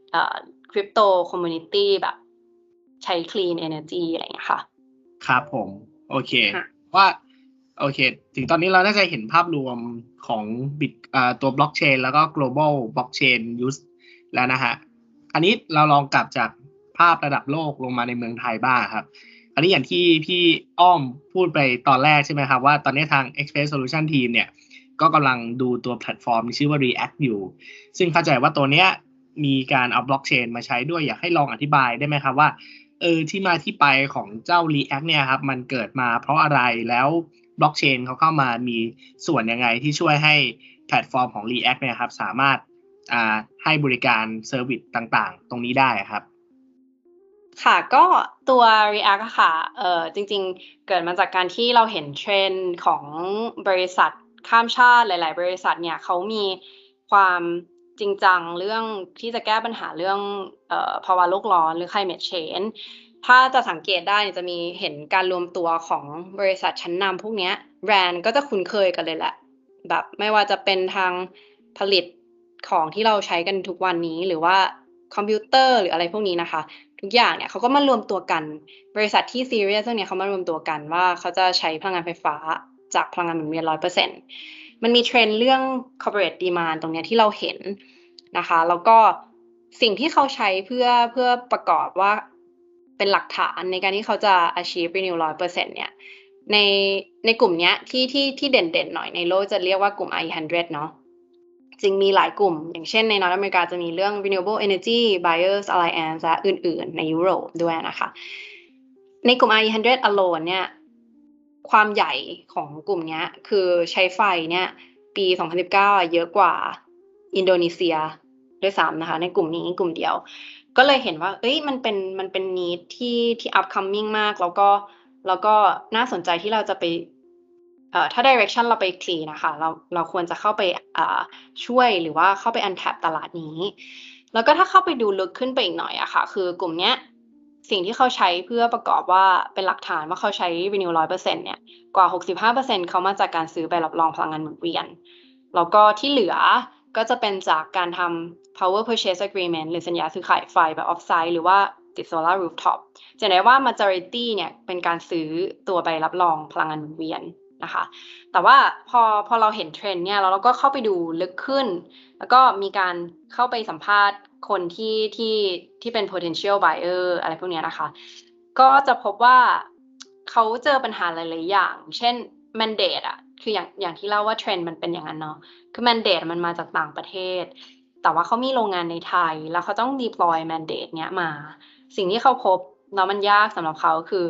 crypto community แบบใช้ clean energy อะไรอย่างเงี้ยค่ะครับผมโอเคว่าโอเคถึงตอนนี้เราน่าจะเห็นภาพรวมของตัวบล็อกเชนแล้วก็ global blockchain use แล้วนะฮะอันนี้เราลองกลับจากภาพระดับโลกลงมาในเมืองไทยบ้างครับอันนี้อย่างที่พี่อ้อมพูดไปตอนแรกใช่ไหมครับว่าตอนนี้ทาง Express Solution Team เนี่ยก็กำลังดูตัวแพลตฟอร์มที่ชื่อว่า React อยู่ซึ่งเข้าใจว่าตัวเนี้ยมีการเอาบล็อกเชนมาใช้ด้วยอยากให้ลองอธิบายได้ไหมครับว่าที่มาที่ไปของเจ้า React เนี่ยครับมันเกิดมาเพราะอะไรแล้วบล็อกเชนเขาเข้ามามีส่วนยังไงที่ช่วยให้แพลตฟอร์มของ React เนี่ยครับสามารถให้บริการเซอร์วิสต่างๆตรงนี้ได้ครับค่ะก็ตัว React อะค่ะจริงๆเกิดมาจากการที่เราเห็นเทรนด์ของบริษัทข้ามชาติหลายๆบริษัทเนี่ยเขามีความจริงจังเรื่องที่จะแก้ปัญหาเรื่องภาวะโลกร้อนหรือ climate change ถ้าจะสังเกตได้จะมีเห็นการรวมตัวของบริษัทชั้นนำพวกนี้แบรนด์ก็จะคุ้นเคยกันเลยแหละแบบไม่ว่าจะเป็นทางผลิตของที่เราใช้กันทุกวันนี้หรือว่าคอมพิวเตอร์หรืออะไรพวกนี้นะคะทุกอย่างเนี่ยเขาก็มารวมตัวกันบริษัทที่ซีเรียสเรื่องนี้เขามารวมตัวกันว่าเขาจะใช้พลังงานไฟฟ้าจากพลังงานหมุนเวียน 100% มันมีเทรนด์เรื่อง corporate demand ตรงนี้ที่เราเห็นนะคะแล้วก็สิ่งที่เขาใช้เพื่อประกอบว่าเป็นหลักฐานในการที่เขาจะ achieve renew 100% เนี่ยในกลุ่มนี้ที่เด่นๆหน่อยในโลกจะเรียกว่ากลุ่ม I100 เนาะจริงมีหลายกลุ่มอย่างเช่นในนอร์ทอเมริกาจะมีเรื่อง Renewable Energy Buyers Alliance และอื่นๆในยุโรปด้วยนะคะในกลุ่ม I100 alone เนี่ยความใหญ่ของกลุ่มนี้คือใช้ไฟเนี่ยปี 2019 เยอะกว่าอินโดนีเซียด้วยซ้ำนะคะในกลุ่มนี้กลุ่มเดียวก็เลยเห็นว่ามันเป็น need ที่ upcoming มากแล้วก็น่าสนใจที่เราจะไปถ้า direction เราไปคลีนะคะเราควรจะเข้าไปช่วยหรือว่าเข้าไป untap ตลาดนี้แล้วก็ถ้าเข้าไปดูลึกขึ้นไปอีกหน่อยอะค่ะคือกลุ่มเนี้ยสิ่งที่เขาใช้เพื่อประกอบว่าเป็นหลักฐานว่าเขาใช้ renew 100% เนี่ยกว่า 65% เขามาจากการซื้อใบรับรองพลังงานหมุนเวียนแล้วก็ที่เหลือก็จะเป็นจากการทำ power purchase agreement หรือสัญญาซื้อขายไฟแบบ off-site หรือว่าติด solar rooftop จะได้ว่า majority เนี่ยเป็นการซื้อตัวใบรับรองพลังงานหมุนเวียนนะคะแต่ว่าพอเราเห็นเทรนด์เนี่ยเราก็เข้าไปดูลึกขึ้นแล้วก็มีการเข้าไปสัมภาษณ์คนที่เป็น potential buyer อะไรพวกนี้นะคะก็จะพบว่าเขาเจอปัญหาหลายๆอย่างเช่น mandate อะคืออย่างที่เล่าว่าเทรนด์มันเป็นอย่างนั้นเนาะคือ mandate มันมาจากต่างประเทศแต่ว่าเขามีโรงงานในไทยแล้วเขาต้อง deploy mandate เนี้ยมาสิ่งที่เขาพบแล้วมันยากสำหรับเขาคือ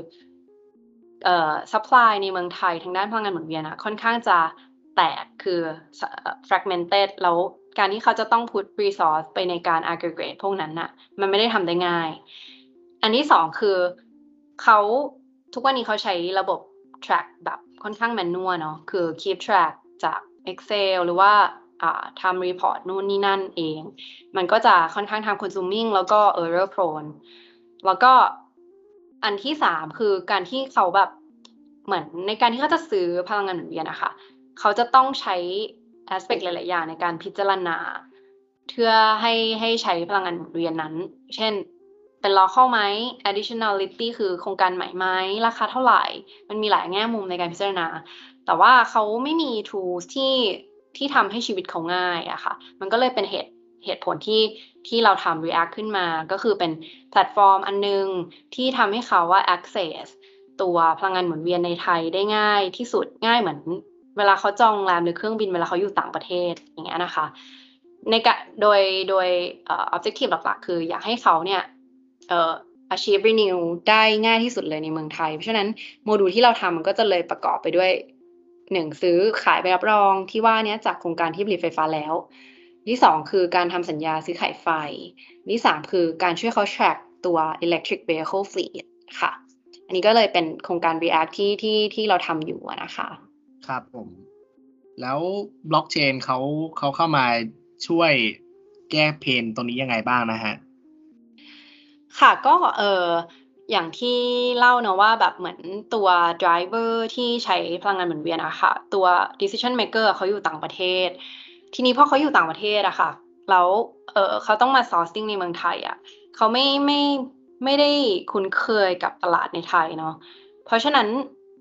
supply ในเมืองไทยทางด้านพลังงานหมุนเวียนค่อนข้างจะแตกคือ fragmented แล้วการที่เขาจะต้อง put resource ไปในการ aggregate พวกนั้นน่ะมันไม่ได้ทำได้ง่ายอันที่สองคือเขาทุกวันนี้เขาใช้ระบบ track แบบค่อนข้าง manual เนาะคือ keep track จาก Excel หรือว่าทำ report นู่นนี่นั่นเองมันก็จะค่อนข้าง time consuming แล้วก็ error prone แล้วก็อันที่สามคือการที่เขาแบบเหมือนในการที่เขาจะซื้อพลังงานหมุนเวียนอะค่ะเขาจะต้องใช้ aspect หลายๆอย่างในการพิจารณาเพื่อให้ใช้พลังงานหมุนเวียนนั้นเช่นเป็น local ไหม additionality คือโครงการใหม่ไหมราคาเท่าไหร่มันมีหลายแง่มุมในการพิจารณาแต่ว่าเขาไม่มี tools ที่ทำให้ชีวิตเขาง่ายอะค่ะมันก็เลยเป็นเหตุผลที่เราทำ React ขึ้นมาก็คือเป็นแพลตฟอร์มอันนึงที่ทำให้เขาว่า access ตัวพลังงานหมุนเวียนในไทยได้ง่ายที่สุดง่ายเหมือนเวลาเขาจองโรงแรมหรือเครื่องบินเวลาเขาอยู่ต่างประเทศอย่างเงี้ยนะคะโดยobjective หลักๆคืออยากให้เขาเนี่ยachieve renew ได้ง่ายที่สุดเลยในเมืองไทยเพราะฉะนั้นโมดูลที่เราทำมันก็จะเลยประกอบไปด้วย1ซื้อขายใบรับรองที่ว่านี้จากโครงการที่ผลิตไฟฟ้าแล้วที่2คือการทำสัญญาซื้อขายไฟที่3คือการช่วยเขา track ตัว electric vehicle fleet ค่ะอันนี้ก็เลยเป็นโครงการ React ที่เราทำอยู่นะคะครับผมแล้วบล็อกเชนเขาเข้ามาช่วยแก้เพนตรงนี้ยังไงบ้างนะฮะค่ะก็อย่างที่เล่าเนอะว่าแบบเหมือนตัว driver ที่ใช้พลังงานหมุนเวียนอะค่ะตัว decision maker เขาอยู่ต่างประเทศทีนี้พอเขาอยู่ต่างประเทศอะค่ะแล้วเขาต้องมา sourcing ในเมืองไทยอะเขาไม่ได้คุ้นเคยกับตลาดในไทยเนาะเพราะฉะนั้น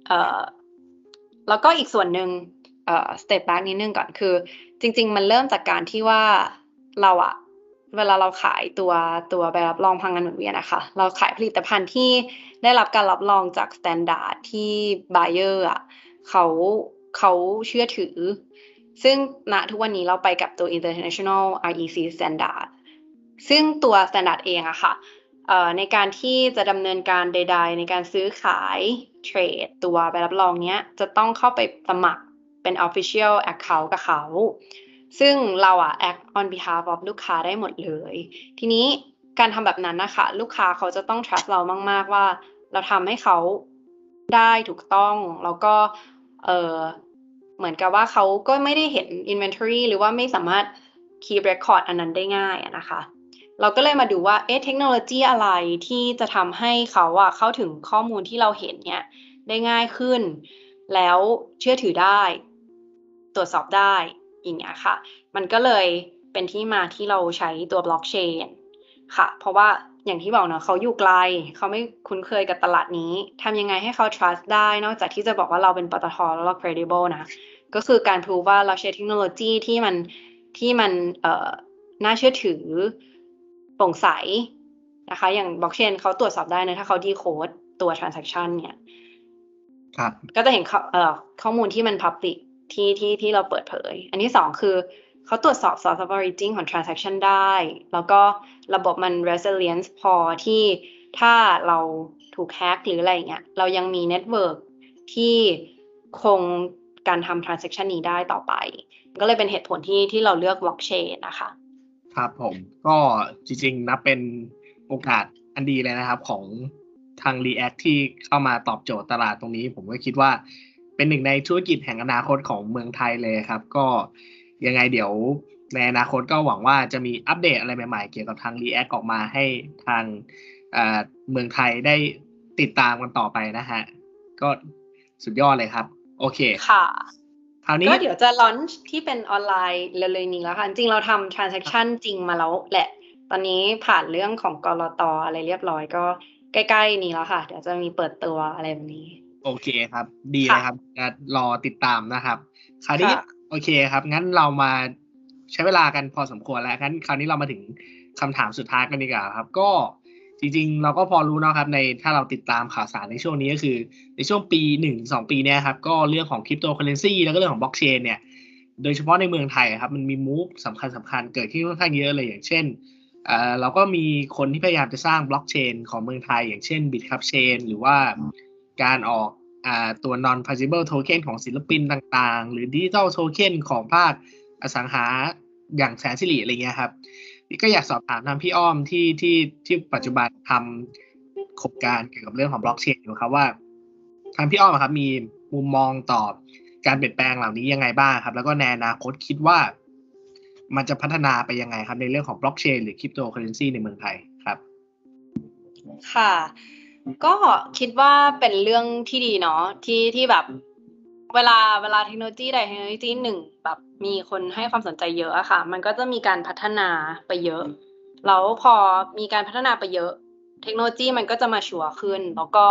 แล้วก็อีกส่วนหนึ่งstep back นิดนึงก่อนคือจริงๆมันเริ่มจากการที่ว่าเราอะเวลาเราขายตัวใบรับรองพลังงานหมุนเวียนอะค่ะเราขายผลิตภัณฑ์ที่ได้รับการรับรองจาก standard ที่ buyer อะเขาเชื่อถือซึ่งณทุกวันนี้เราไปกับตัว international REC standard ซึ่งตัว standard เองอะค่ะในการที่จะดำเนินการใดๆในการซื้อขายเทรดตัวใบรับรองเนี้ยจะต้องเข้าไปสมัครเป็น official account กับเขาซึ่งเราอะ act on behalf of ลูกค้าได้หมดเลยทีนี้การทำแบบนั้นนะคะลูกค้าเขาจะต้อง trust เรามากๆว่าเราทำให้เขาได้ถูกต้องแล้วก็เหมือนกับว่าเขาก็ไม่ได้เห็น inventory หรือว่าไม่สามารถ keep record อันนั้นได้ง่ายนะคะเราก็เลยมาดูว่าเทคโนโลยีอะไรที่จะทำให้เขาอะเข้าถึงข้อมูลที่เราเห็นเนี่ยได้ง่ายขึ้นแล้วเชื่อถือได้ตรวจสอบได้อย่างเงี้ยค่ะมันก็เลยเป็นที่มาที่เราใช้ตัวบล็อกเชนค่ะเพราะว่าอย่างที่บอกเนาะเขาอยู่ไกลเขาไม่คุ้นเคยกับตลาดนี้ทำยังไงให้เขา trust ได้นอกจากที่จะบอกว่าเราเป็นปตทแล้วเรา credible นะก็คือการproveว่าเราใช้เทคโนโลยีที่มันน่าเชื่อถือโปร่งใสนะคะอย่างบล็อกเชนเขาตรวจสอบได้นะถ้าเขาดีโค้ดตัว transaction เนี่ยครับก็จะเห็นข้อมูลที่มัน public ที่เราเปิดเผยอันที่สองคือเขาตรวจสอบ source of origin ของ transaction ได้แล้วก็ระบบมัน resilient พอที่ถ้าเราถูกแฮกหรืออะไรเงี้ยเรายังมี network ที่คงการทำ transaction นี้ได้ต่อไปก็เลยเป็นเหตุผลที่เราเลือก blockchain นะคะครับผมก็จริงๆนับเป็นโอกาสอันดีเลยนะครับของทาง React ที่เข้ามาตอบโจทย์ตลาดตรงนี้ผมก็คิดว่าเป็นหนึ่งในธุรกิจแห่งอนาคตของเมืองไทยเลยครับก็ยังไงเดี๋ยวในอนาคตก็หวังว่าจะมีอัปเดตอะไรใหม่ๆเกี่ยวกับทาง React ออกมาให้ทางเมืองไทยได้ติดตามกันต่อไปนะฮะก็สุดยอดเลยครับโอเคค่ะคราวนี้ก็เดี๋ยวจะ launch ที่เป็นออนไลน์เร็วๆนี้แล้วค่ะจริงเราทำ transaction จริงมาแล้วแหละตอนนี้ผ่านเรื่องของกลต.อะไรเรียบร้อยก็ใกล้ๆนี้แล้วค่ะเดี๋ยวจะมีเปิดตัวอะไรแบบนี้โอเคครับดีเลยครับจะรอติดตามนะครับคราวนี้โอเคครับงั้นเรามาใช้เวลากันพอสมควรแล้วงั้นคราวนี้เรามาถึงคำถามสุดท้ายกันดีกว่าครับก็จริงๆเราก็พอรู้นะครับในถ้าเราติดตามข่าวสารในช่วงนี้ก็คือในช่วงปี 1-2 ปีเนี่ยครับก็เรื่องของคริปโตเคอเรนซีแล้วก็เรื่องของบล็อกเชนเนี่ยโดยเฉพาะในเมืองไทยครับมันมีมูฟสำคัญเกิดขึ้นค่อนข้างเยอะเลยอย่างเช่นเราก็มีคนที่พยายามจะสร้างบล็อกเชนของเมืองไทยอย่างเช่น Bitcup Chain หรือว่าการออกตัว non fungible token ของศิลปินต่างๆหรือ digital token ของภาคอสังหาอย่างแสนสิริอะไรเงี้ยครับนี่ก็อยากสอบถามทางพี่อ้อมที่ปัจจุบันทำโครงการเกี่ยวกับเรื่องของบล็อกเชนอยู่ครับว่าทางพี่อ้อมครับมีมุมมองต่อการเปลี่ยนแปลงเหล่านี้ยังไงบ้างครับแล้วก็ในอนาคตคิดว่ามันจะพัฒนาไปยังไงครับในเรื่องของบล็อกเชนหรือคริปโตเคอเรนซีในเมืองไทยครับค่ะก็คิดว่าเป็นเรื่องที่ดีเนาะที่แบบเวลาเทคโนโลยีใดเทคโนโลยีหนึ่งแบบมีคนให้ความสนใจเยอะอะค่ะมันก็จะมีการพัฒนาไปเยอะแล้วพอมีการพัฒนาไปเยอะเทคโนโลยีมันก็จะมาชัวร์ขึ้นแล้วก็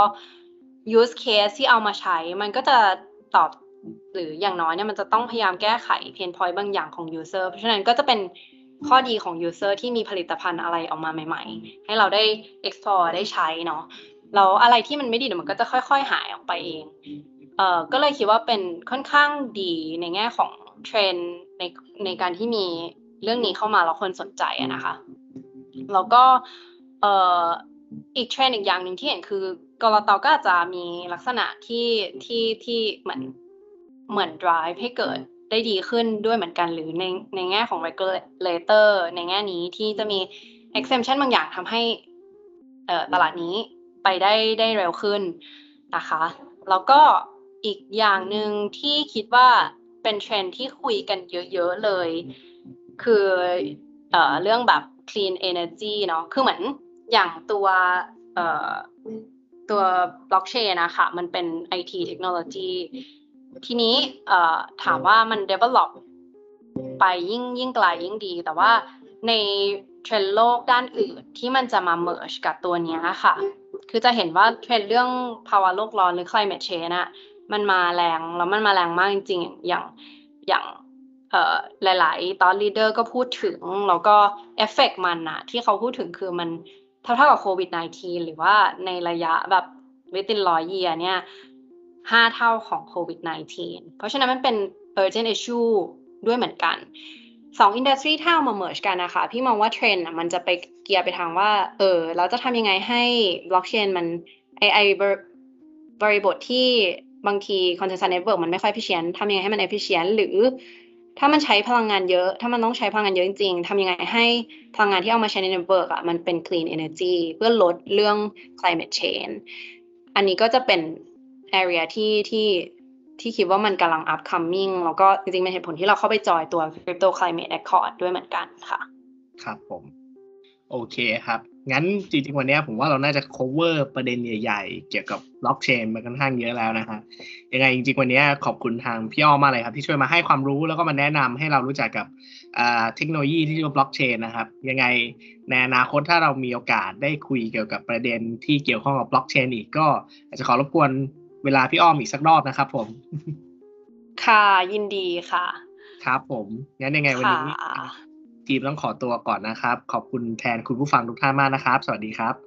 use case ที่เอามาใช้มันก็จะตอบหรืออย่างน้อยเนี่ยมันจะต้องพยายามแก้ไข pain point บางอย่างของ user เพราะฉะนั้นก็จะเป็นข้อดีของ user ที่มีผลิตภัณฑ์อะไรออกมาใหม่ๆให้เราได้ explore ได้ใช้เนาะแล้วอะไรที่มันไม่ดีเดี๋ยวมันก็จะค่อยๆหายออกไปเองก็เลยคิดว่าเป็นค่อนข้างดีในแง่ของเทรนด์ในการที่มีเรื่องนี้เข้ามาแล้วคนสนใจอะนะคะแล้วก็อีกเทรนด์อีกอย่างหนึ่งที่เห็นคือกลต.ก็อาจจะมีลักษณะที่เหมือน drive ให้เกิดได้ดีขึ้นด้วยเหมือนกันหรือในแง่ของ regulator ในแง่นี้ที่จะมี exemption บางอย่างทำให้ตลาดนี้ไปได้เร็วขึ้นนะคะแล้วก็อีกอย่างหนึ่งที่คิดว่าเป็นเทรนด์ที่คุยกันเยอะๆเลยคือเรื่องแบบ clean energy เนาะคือเหมือนอย่างตัวตัวบล็อกเชนนะคะมันเป็น IT เทคโนโลยีทีนี้ถามว่ามัน develop ไปยิ่งไกลยิ่งดีแต่ว่าในเทรนด์โลกด้านอื่นที่มันจะมา merge กับตัวนี้ค่ะคือจะเห็นว่าเทรนด์เรื่องภาวะโลกร้อนหรือ climate change น่ะมันมาแรงแล้วมันมาแรงมากจริงๆอย่างหลายๆ thought leader ก็พูดถึงแล้วก็เอฟเฟกต์มันนะที่เขาพูดถึงคือมันเท่ากับโควิด -19 หรือว่าในระยะแบบ within 100 year เนี่ย5 เท่าของโควิด -19 เพราะฉะนั้นมันเป็น urgent issue ด้วยเหมือนกัน2 industry ถ้าเอามา merge กันนะคะพี่มองว่าเทรนด์มันจะไปเกียร์ไปทางว่าเราจะทำยังไงให้ blockchain มันบริบทที่บางที consensus network มันไม่ค่อย efficient ทำยังไงให้มัน efficient หรือถ้ามันใช้พลังงานเยอะถ้ามันต้องใช้พลังงานเยอะจริงๆทำยังไงให้พลังงานที่เอามาใช้ใน network มันเป็น clean energy เพื่อลดเรื่อง climate change อันนี้ก็จะเป็น area ที่คิดว่ามันกำลัง upcoming แล้วก็จริงๆเป็นเหตุผลที่เราเข้าไปจอยตัว Crypto Climate Accord ด้วยเหมือนกันค่ะครับผมโอเคครับงั้นจริงๆวันนี้ผมว่าเราน่าจะ cover ประเด็นใหญ่ๆเกี่ยวกับ blockchain มาค่อนข้างเยอะแล้วนะฮะยังไงจริงๆวันนี้ขอบคุณทางพี่อ้อมมากเลยครับที่ช่วยมาให้ความรู้แล้วก็มาแนะนำให้เรารู้จักกับเทคโนโลยีที่เรียกว่า blockchain นะครับยังไงในอนาคตถ้าเรามีโอกาสได้คุยเกี่ยวกับประเด็นที่เกี่ยวข้องกับ blockchain อีกก็อาจจะขอรบกวนเวลาพี่อ้อมอีกสักรอบนะครับผมค่ะยินดีค่ะครับผมงั้นยังไงวันนี้ทีมต้องขอตัวก่อนนะครับขอบคุณแทนคุณผู้ฟังทุกท่านมากนะครับสวัสดีครับ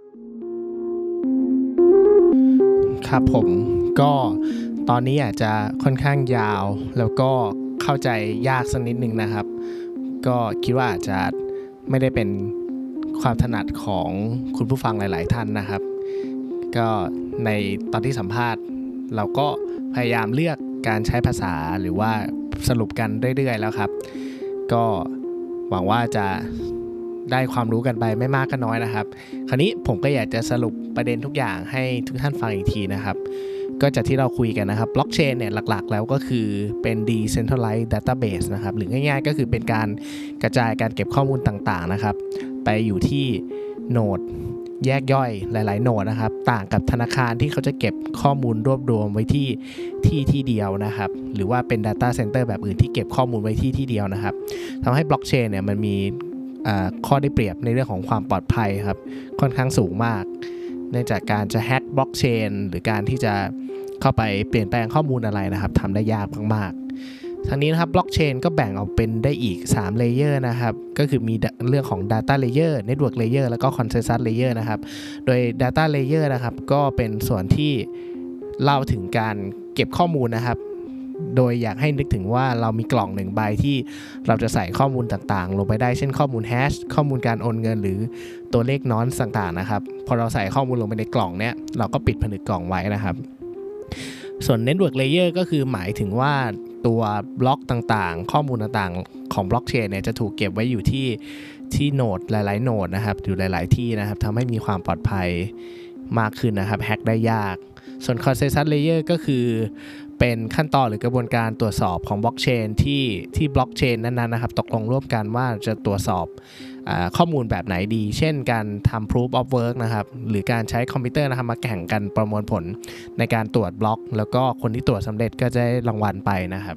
ครับผมก็ตอนนี้อาจจะค่อนข้างยาวแล้วก็เข้าใจยากสักนิดนึงนะครับก็คิดว่าอาจจะไม่ได้เป็นความถนัดของคุณผู้ฟังหลายๆท่านนะครับก็ในตอนที่สัมภาษณ์เราก็พยายามเลือกการใช้ภาษาหรือว่าสรุปกันเรื่อยๆแล้วครับก็หวังว่าจะได้ความรู้กันไปไม่มากก็น้อยนะครับคราวนี้ผมก็อยากจะสรุปประเด็นทุกอย่างให้ทุกท่านฟังอีกทีนะครับก็จากที่เราคุยกันนะครับบล็อกเชนเนี่ยหลักๆแล้วก็คือเป็น decentralized database นะครับหรือง่ายๆก็คือเป็นการกระจายการเก็บข้อมูลต่างๆนะครับไปอยู่ที่โนดแยกย่อยหลายๆโนดนะครับต่างกับธนาคารที่เขาจะเก็บข้อมูลรวบรวมไว้ที่เดียวนะครับหรือว่าเป็น data center แบบอื่นที่เก็บข้อมูลไว้ที่เดียวนะครับทำให้บล็อกเชนเนี่ยมันมีข้อได้เปรียบในเรื่องของความปลอดภัยครับค่อนข้างสูงมากเนื่องจากการจะแฮ็กบล็อกเชนหรือการที่จะเข้าไปเปลี่ยนแปลงข้อมูลอะไรนะครับทำได้ยากมากๆทั้งนี้นะครับบล็อกเชนก็แบ่งออกเป็นได้อีก3เลเยอร์นะครับก็คือมีเรื่องของ Data Layer Network Layer แล้วก็ Consensus Layer นะครับโดย Data Layer นะครับก็เป็นส่วนที่เล่าถึงการเก็บข้อมูลนะครับโดยอยากให้นึกถึงว่าเรามีกล่อง1ใบที่เราจะใส่ข้อมูลต่างๆลงไปได้เช่นข้อมูลแฮชข้อมูลการโอนเงินหรือตัวเลขนอนต่างๆนะครับพอเราใส่ข้อมูลลงไปในกล่องเนี้ยเราก็ปิดผนึกกล่องไว้นะครับส่วน Network Layer ก็คือหมายถึงว่าตัวบล็อกต่างๆข้อมูลต่างๆของบล็อกเชนเนี่ยจะถูกเก็บไว้อยู่ที่โนดหลายๆโนดนะครับอยู่หลายๆที่นะครับทำให้มีความปลอดภัยมากขึ้นนะครับแฮ็กได้ยากส่วน Consensus Layer ก็คือเป็นขั้นตอนหรือกระบวนการตรวจสอบของบล็อกเชนที่บล็อกเชนนั้นๆนะครับตกลงร่วมกันว่าจะตรวจสอบข้อมูลแบบไหนดีเช่นการทำ proof of work นะครับหรือการใช้คอมพิวเตอร์นะครับมาแข่งกันประมวลผลในการตรวจบล็อกแล้วก็คนที่ตรวจสำเร็จก็จะได้รางวัลไปนะครับ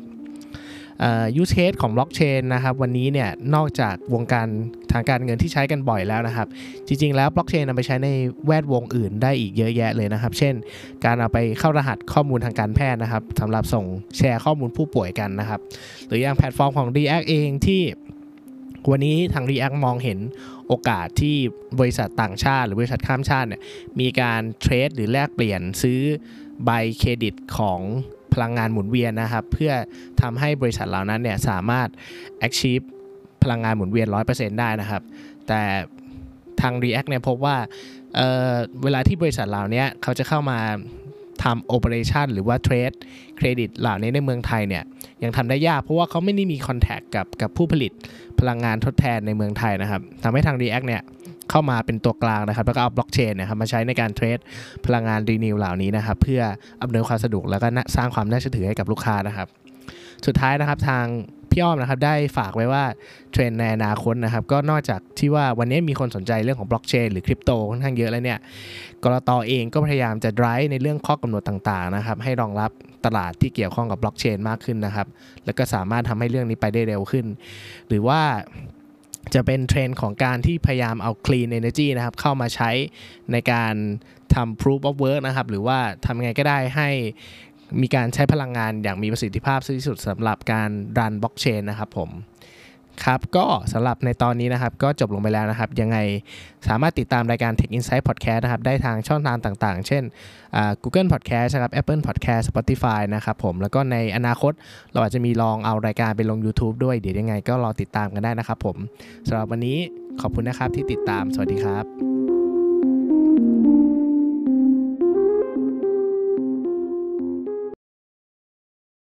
use case ของบล็อกเชนนะครับวันนี้เนี่ยนอกจากวงการทางการเงินที่ใช้กันบ่อยแล้วนะครับจริงๆแล้วบล็อกเชนนำไปใช้ในแวดวงอื่นได้อีกเยอะแยะเลยนะครับเช่นการเอาไปเข้ารหัสข้อมูลทางการแพทย์นะครับสำหรับส่งแชร์ข้อมูลผู้ป่วยกันนะครับหรืออย่างแพลตฟอร์มของ React เองที่วันนี้ทาง React มองเห็นโอกาสที่บริษัทต่างชาติหรือบริษัทข้ามชาติเนี่ยมีการเทรดหรือแลกเปลี่ยนซื้อใบเครดิตของพลังงานหมุนเวียนนะครับเพื่อทำให้บริษัทเหล่านั้นเนี่ยสามารถ achieve พลังงานหมุนเวียน 100% ได้นะครับแต่ทาง React เนี่ยพบว่าเวลาที่บริษัทเหล่านี้เขาจะเข้ามาทำ operation หรือว่า trade เครดิตเหล่านี้ในเมืองไทยเนี่ยยังทำได้ยากเพราะว่าเขาไม่ได้มี contact กับผู้ผลิตพลังงานทดแทนในเมืองไทยนะครับทำให้ทาง React เนี่ยเข้ามาเป็นตัวกลางนะครับแล้วก็เอาบล็อกเชนนะครับมาใช้ในการเทรดพลังงานรีนิวเหล่านี้นะครับเพื่ออำนวยความสะดวกแล้วก็สร้างความน่าเชื่อถือให้กับลูกค้านะครับสุดท้ายนะครับทางพี่อ้อมนะครับได้ฝากไว้ว่าเทรนด์ในอนาคตนะครับก็นอกจากที่ว่าวันนี้มีคนสนใจเรื่องของบล็อกเชนหรือคริปโตค่อนข้างเยอะแล้วเนี่ยกลต.เองก็พยายามจะ drive ในเรื่องข้อกำหนดต่างๆนะครับให้รองรับตลาดที่เกี่ยวข้องกับบล็อกเชนมากขึ้นนะครับแล้วก็สามารถทำให้เรื่องนี้ไปได้เร็วขึ้นหรือว่าจะเป็นเทรนด์ของการที่พยายามเอา clean energy นะครับเข้ามาใช้ในการทำ proof of work นะครับหรือว่าทำยังไงก็ได้ให้มีการใช้พลังงานอย่างมีประสิทธิภาพที่สุดสำหรับการรันบล็อกเชนนะครับผมครับก็สำหรับในตอนนี้นะครับก็จบลงไปแล้วนะครับยังไงสามารถติดตามรายการ Tech Insight Podcast นะครับได้ทางช่องทางต่างๆเช่นGoogle Podcast นะครับ Apple Podcast Spotify นะครับผมแล้วก็ในอนาคตเราอาจจะมีลองเอารายการไปลง YouTube ด้วยเดี๋ยวยังไงก็รอติดตามกันได้นะครับผมสำหรับวันนี้ขอบคุณนะครับที่ติดตามสวัสดีครับ